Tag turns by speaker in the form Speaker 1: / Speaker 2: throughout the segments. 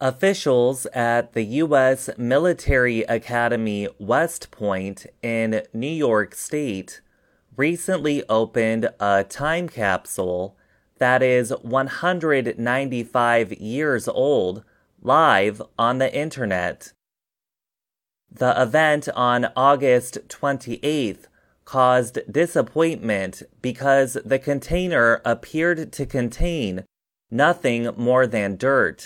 Speaker 1: Officials at the U.S. Military Academy West Point in New York State recently opened a time capsule that is 195 years old live on the internet. The event on August 28th caused disappointment because the container appeared to contain nothing more than dirt.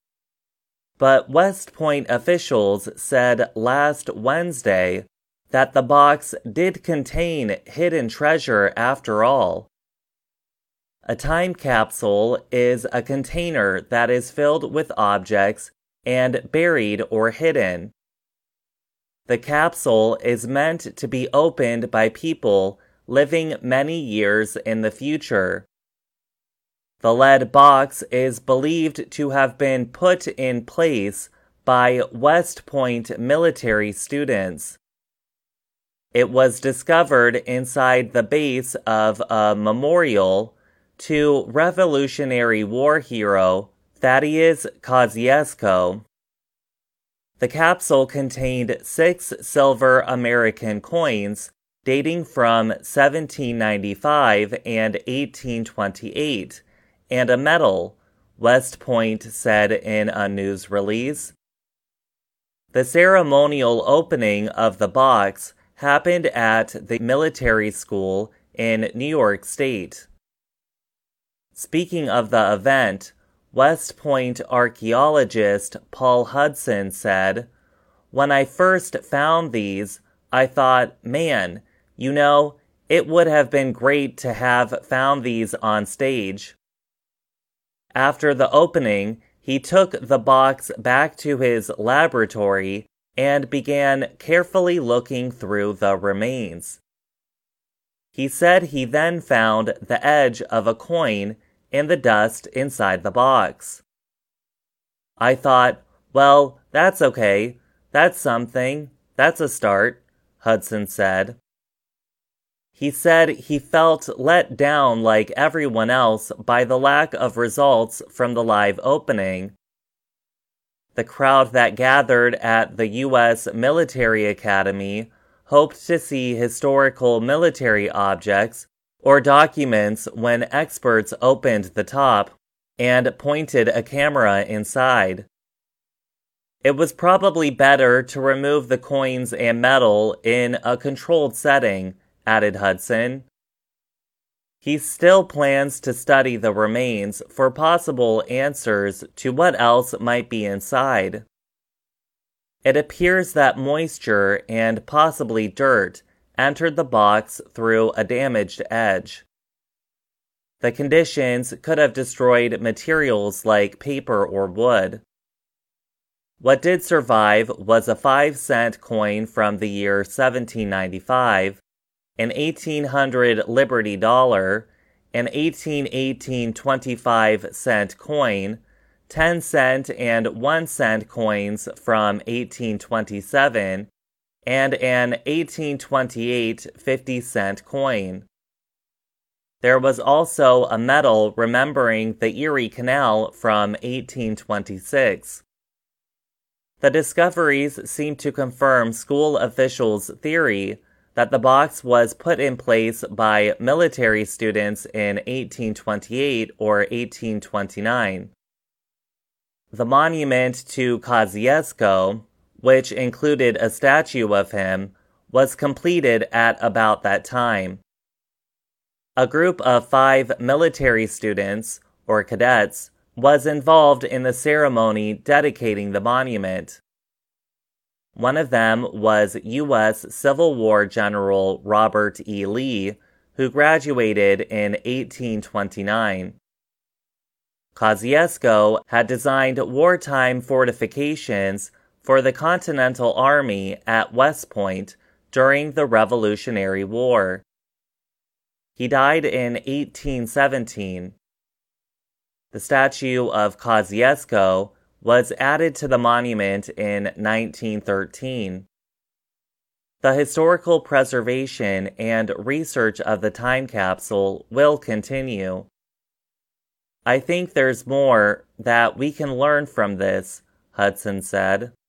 Speaker 1: But West Point officials said last Wednesday that the box did contain hidden treasure after all. A time capsule is a container that is filled with objects and buried or hidden. The capsule is meant to be opened by people living many years in the future. The lead box is believed to have been put in place by West Point military students. It was discovered inside the base of a memorial to Revolutionary War hero Thaddeus Kosciuszko. The capsule contained 6 silver American coins dating from 1795 and 1828, and a medal, West Point said in a news release. The ceremonial opening of the box happened at the military school in New York State. Speaking of the event, West Point archaeologist Paul Hudson said, "When I first found these, I thought, man, it would have been great to have found these on stage." After the opening, he took the box back to his laboratory and began carefully looking through the remains. He said he then found the edge of a coin in the dust inside the box. "I thought, well, that's okay. That's something. That's a start," Hudson said. He said he felt let down like everyone else by the lack of results from the live opening. The crowd that gathered at the U.S. Military Academy hoped to see historical military objects or documents when experts opened the top and pointed a camera inside. It was probably better to remove the coins and metal in a controlled setting, added Hudson. He still plans to study the remains for possible answers to what else might be inside. It appears that moisture and possibly dirt entered the box through a damaged edge. The conditions could have destroyed materials like paper or wood. What did survive was a 5-cent coin from the year 1795, an 1800 Liberty dollar, an 1818 25-cent coin, 10-cent and 1-cent coins from 1827, and an 1828 50-cent coin. There was also a medal remembering the Erie Canal from 1826. The discoveries seem to confirm school officials' theory that the box was put in place by military students in 1828 or 1829. The monument to Kosciuszko, which included a statue of him, was completed at about that time. A group of 5 military students, or cadets, was involved in the ceremony dedicating the monument. One of them was U.S. Civil War General Robert E. Lee, who graduated in 1829. Kosciuszko had designed wartime fortifications for the Continental Army at West Point during the Revolutionary War. He died in 1817. The statue of Kosciuszko was added to the monument in 1913. The historical preservation and research of the time capsule will continue. I think there's more that we can learn from this, Hudson said.